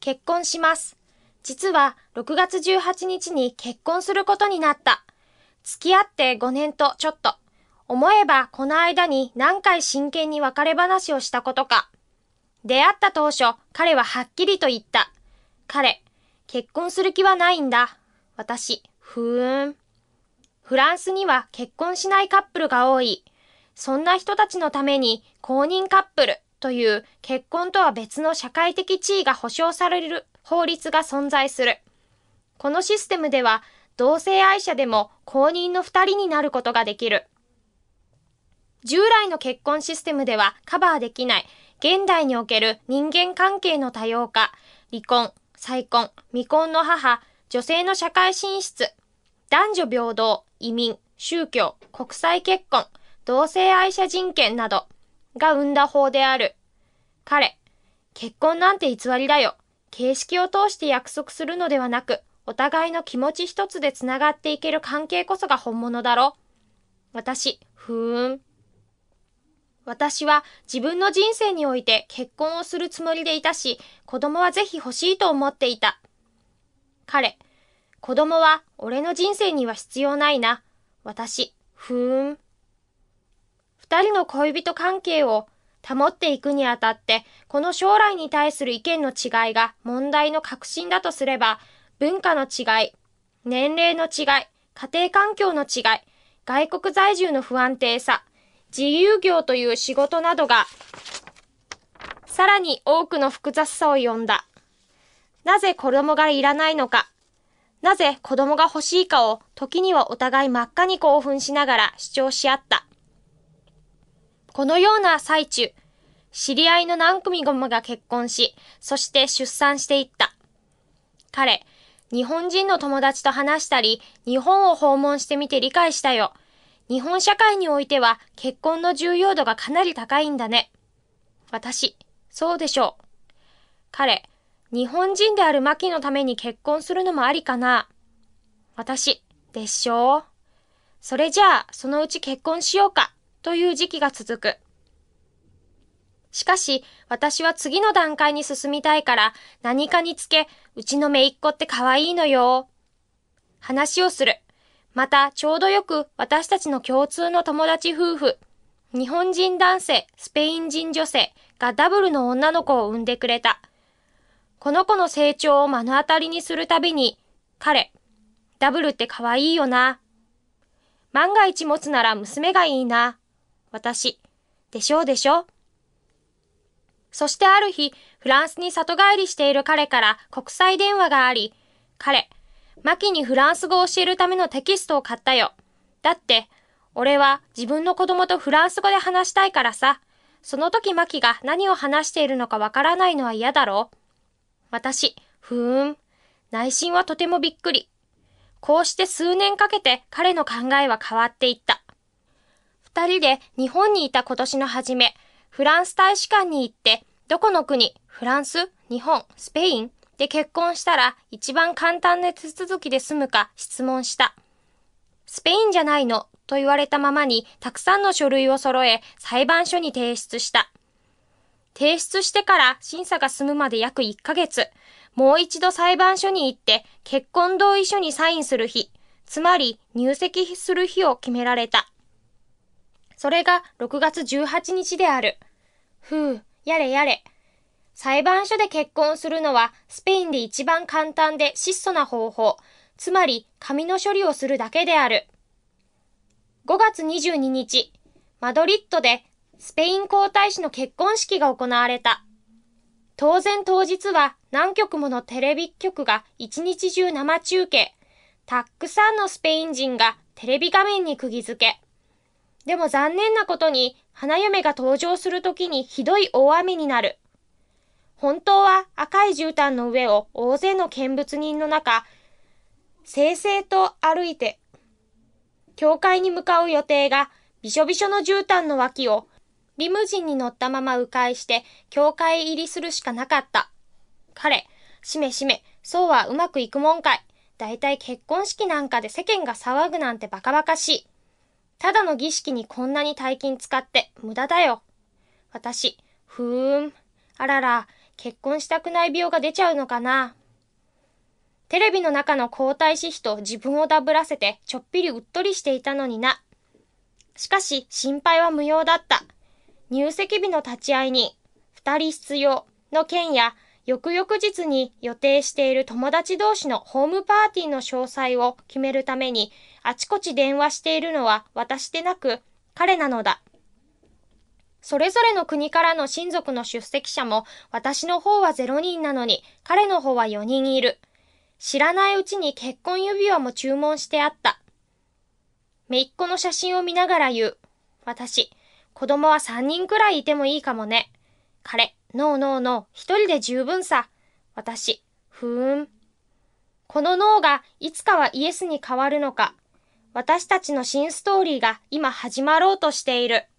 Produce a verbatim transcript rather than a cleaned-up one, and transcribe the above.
結婚します。実はろくがつじゅうはちにちに結婚することになった。付き合ってごねんとちょっと。思えばこの間に何回真剣に別れ話をしたことか。出会った当初、彼ははっきりと言った。彼、結婚する気はないんだ。私、ふーん。フランスには結婚しないカップルが多い。そんな人たちのために公認カップルという結婚とは別の社会的地位が保障される法律が存在する。このシステムでは同性愛者でも公認の二人になることができる。従来の結婚システムではカバーできない現代における人間関係の多様化、離婚、再婚、未婚の母、女性の社会進出、男女平等、移民、宗教、国際結婚、同性愛者人権などが生んだ法である。彼、結婚なんて偽りだよ。形式を通して約束するのではなく、お互いの気持ち一つでつながっていける関係こそが本物だろ。私、ふーん。私は自分の人生において結婚をするつもりでいたし、子供はぜひ欲しいと思っていた。彼、子供は俺の人生には必要ないな。私、ふーん。二人の恋人関係を保っていくにあたって、この将来に対する意見の違いが問題の核心だとすれば、文化の違い、年齢の違い、家庭環境の違い、外国在住の不安定さ、自由業という仕事などが、さらに多くの複雑さを呼んだ。なぜ子供がいらないのか、なぜ子供が欲しいかを時にはお互い真っ赤に興奮しながら主張し合った。このような最中、知り合いの何組もが結婚し、そして出産していった。彼、日本人の友達と話したり、日本を訪問してみて理解したよ。日本社会においては結婚の重要度がかなり高いんだね。私、そうでしょう。彼、日本人であるマキのために結婚するのもありかな。私、でしょう。それじゃあ、そのうち結婚しようか、という時期が続く。しかし、私は次の段階に進みたいから、何かにつけ、うちの姪っ子って可愛いのよ。話をする。また、ちょうどよく私たちの共通の友達夫婦、日本人男性、スペイン人女性がダブルの女の子を産んでくれた。この子の成長を目の当たりにするたびに、彼、ダブルって可愛いよな。万が一持つなら娘がいいな。私、でしょうでしょ。そしてある日、フランスに里帰りしている彼から国際電話があり、彼、マキにフランス語を教えるためのテキストを買ったよ。だって、俺は自分の子供とフランス語で話したいからさ。その時マキが何を話しているのかわからないのは嫌だろう。私、ふーん。内心はとてもびっくり。こうして数年かけて彼の考えは変わっていった。二人で日本にいた今年の初め、フランス大使館に行って、どこの国、フランス、日本、スペインで結婚したら一番簡単な手続きで済むか質問した。スペインじゃないのと言われたままにたくさんの書類を揃え裁判所に提出した。提出してから審査が済むまで約いっかげつ、もう一度裁判所に行って結婚同意書にサインする日、つまり入籍する日を決められた。それがろくがつじゅうはちにちである。ふう、やれやれ。裁判所で結婚するのはスペインで一番簡単で質素な方法、つまり紙の処理をするだけである。ごがつにじゅうににち、マドリッドでスペイン皇太子の結婚式が行われた。当然当日は何局ものテレビ局が一日中生中継。たくさんのスペイン人がテレビ画面に釘付け。でも残念なことに花嫁が登場するときにひどい大雨になる。本当は赤い絨毯の上を大勢の見物人の中、正々と歩いて、教会に向かう予定がびしょびしょの絨毯の脇をリムジンに乗ったまま迂回して教会入りするしかなかった。彼、しめしめ、そうはうまくいくもんかい。だいたい結婚式なんかで世間が騒ぐなんてバカバカしい。ただの儀式にこんなに大金使って無駄だよ。私、ふーん。あらら、 結婚したくない病が出ちゃうのかな。テレビの中の皇太子妃と自分をダブらせてちょっぴりうっとりしていたのにな。しかし心配は無用だった。入籍日の立ち会い人、二人必要の件や、翌々日に予定している友達同士のホームパーティーの詳細を決めるために、あちこち電話しているのは私でなく彼なのだ。それぞれの国からの親族の出席者も私の方はゼロにんなのに彼の方はよにんいる。知らないうちに結婚指輪も注文してあった。姪っ子の写真を見ながら言う。私、子供はさんにんくらいいてもいいかもね。彼、ノーノーノー、一人で十分さ。私、ふーん。このノーがいつかはイエスに変わるのか。私たちの新ストーリーが今始まろうとしている。